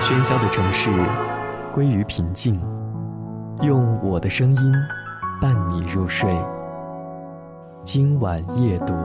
喧嚣的城市归于平静，用我的声音伴你入睡。今晚夜读。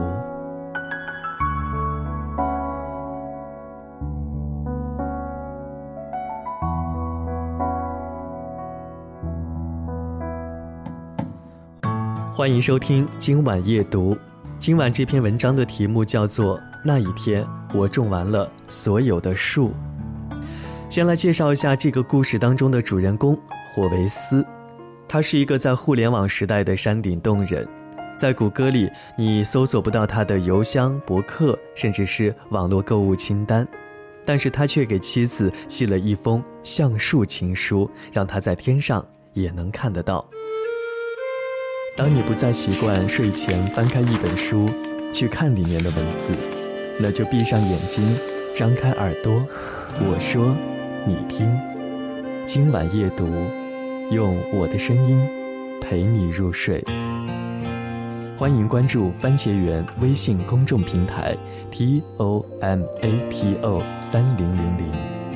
欢迎收听今晚夜读。今晚这篇文章的题目叫做《那一天我种完了所有的树》。先来介绍一下这个故事当中的主人公霍维斯。他是一个在互联网时代的山顶洞人，在谷歌里你搜索不到他的邮箱、博客，甚至是网络购物清单，但是他却给妻子寄了一封橡树情书，让他在天上也能看得到。当你不再习惯睡前翻开一本书去看里面的文字，那就闭上眼睛，张开耳朵，我说你听。今晚夜读，用我的声音陪你入睡。欢迎关注番茄园微信公众平台 TOMATO3000。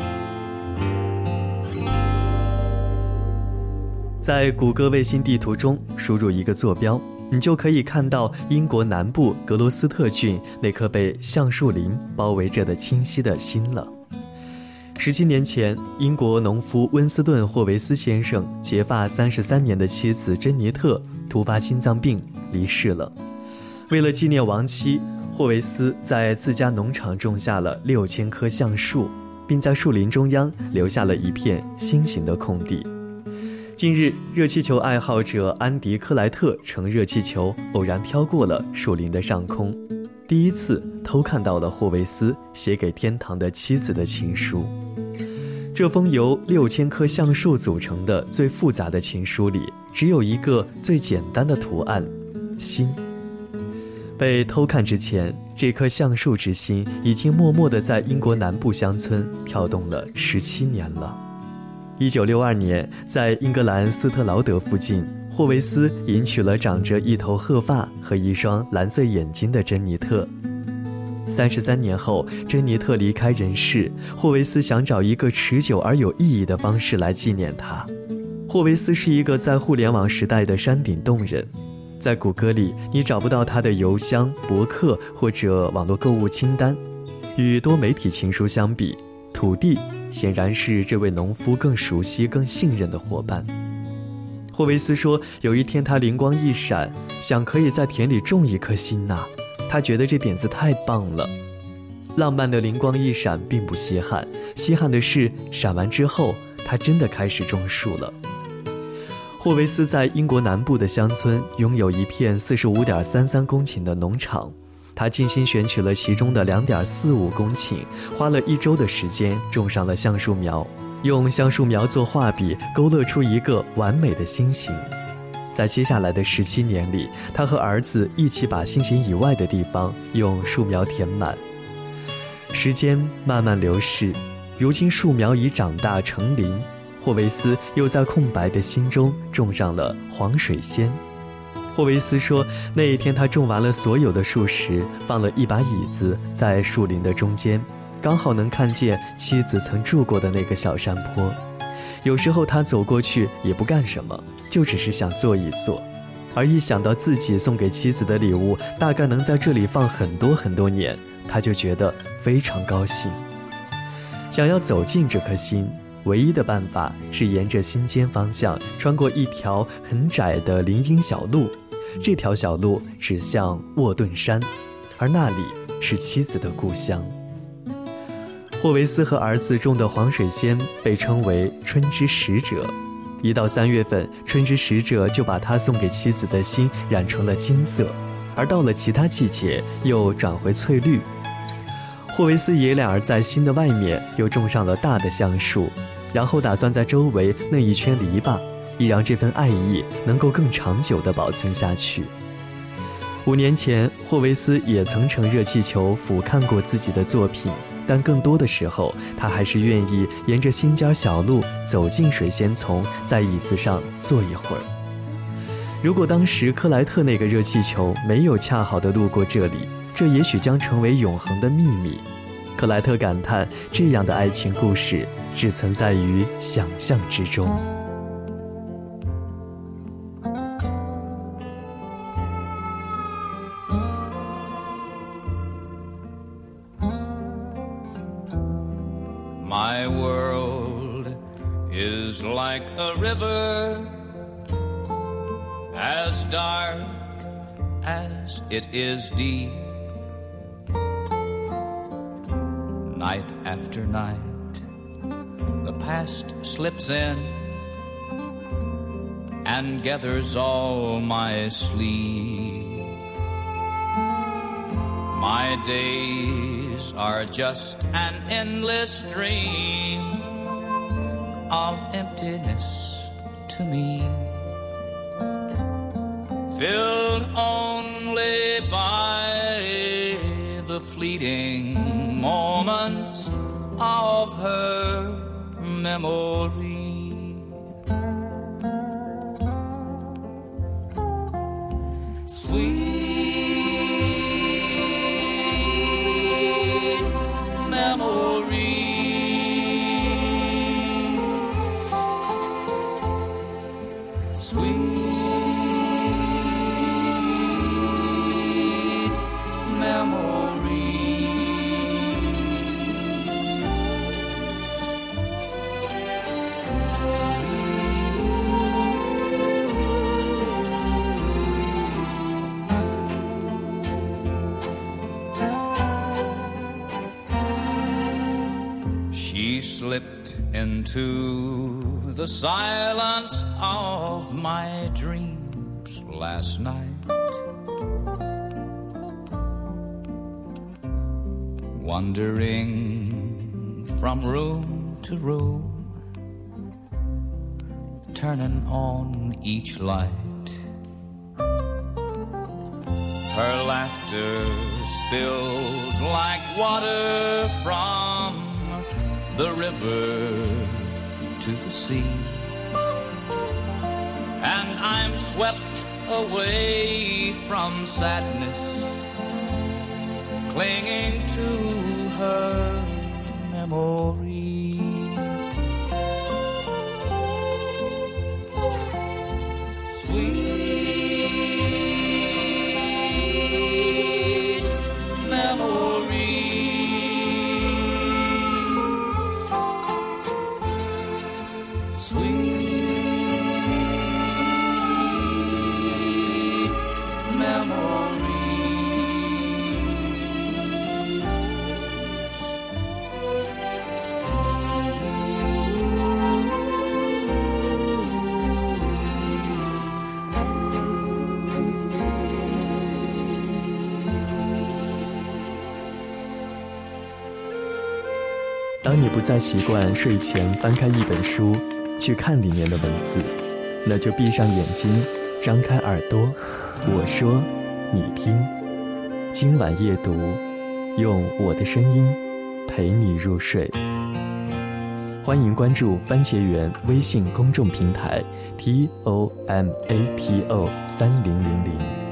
在谷歌卫星地图中输入一个坐标，你就可以看到英国南部格罗斯特郡那棵被橡树林包围着的清晰的星了。17年前，英国农夫温斯顿·霍维斯先生结发33年的妻子珍妮特突发心脏病离世了。为了纪念亡妻，霍维斯在自家农场种下了6000棵橡树，并在树林中央留下了一片心形的空地。近日，热气球爱好者安迪·克莱特乘热气球偶然飘过了树林的上空，第一次偷看到了霍维斯写给天堂的妻子的情书。这封由6000棵橡树组成的最复杂的情书里，只有一个最简单的图案——心。被偷看之前，这棵橡树之心已经默默地在英国南部乡村跳动了17年了。1962年，在英格兰斯特劳德附近，霍维斯迎娶了长着一头褐发和一双蓝色眼睛的珍妮特。33年后，珍妮特离开人世，霍维斯想找一个持久而有意义的方式来纪念她。霍维斯是一个在互联网时代的山顶洞人，在谷歌里你找不到他的邮箱、博客或者网络购物清单。与多媒体情书相比，土地显然是这位农夫更熟悉、更信任的伙伴。霍维斯说，有一天他灵光一闪，想可以在田里种一颗心呐。他觉得这点子太棒了。浪漫的灵光一闪并不稀罕，稀罕的是闪完之后，他真的开始种树了。霍维斯在英国南部的乡村拥有一片45.33公顷的农场，他精心选取了其中的2.45公顷，花了1周的时间种上了橡树苗，用橡树苗做画笔，勾勒出一个完美的心形。在接下来的17年里，他和儿子一起把心形以外的地方用树苗填满。时间慢慢流逝，如今树苗已长大成林，霍维斯又在空白的心中种上了黄水仙。霍维斯说，那一天他种完了所有的树时，放了一把椅子在树林的中间，刚好能看见妻子曾住过的那个小山坡。有时候他走过去也不干什么，就只是想坐一坐，而一想到自己送给妻子的礼物大概能在这里放很多很多年，他就觉得非常高兴。想要走进这颗心，唯一的办法是沿着心尖方向穿过一条很窄的林荫小路，这条小路指向沃顿山，而那里是妻子的故乡。霍维斯和儿子种的黄水仙被称为春之使者，一到3月份，春之使者就把他送给妻子的心染成了金色，而到了其他季节又转回翠绿。霍维斯爷俩在心的外面又种上了大的橡树，然后打算在周围弄一圈篱笆，以让这份爱意能够更长久地保存下去。5年前，霍维斯也曾乘热气球俯瞰过自己的作品，但更多的时候，他还是愿意沿着心尖小路走进水仙丛，在椅子上坐一会儿。如果当时克莱特那个热气球没有恰好地路过这里，这也许将成为永恒的秘密。 克莱特感叹，这样的爱情故事只存在于想象之中。 My world is like a river, as dark as it is deep. Night after night, the past slips in and gathers all my sleep. My days are just an endless dream of emptiness to me, filled only by the fleeting moments of her memory. Sweet memory, sweet memory. She slipped into the silence of my dreams last night, wandering from room to room, turning on each light. Her laughter spills like water from the river to the sea, and I'm swept away from sadness, clinging to her memory. Sweet memory, 当你不再习惯睡前翻开一本书去看里面的文字，那就闭上眼睛，张开耳朵，我说你听。今晚夜读，用我的声音陪你入睡。欢迎关注番茄园微信公众平台 TOMATO3000。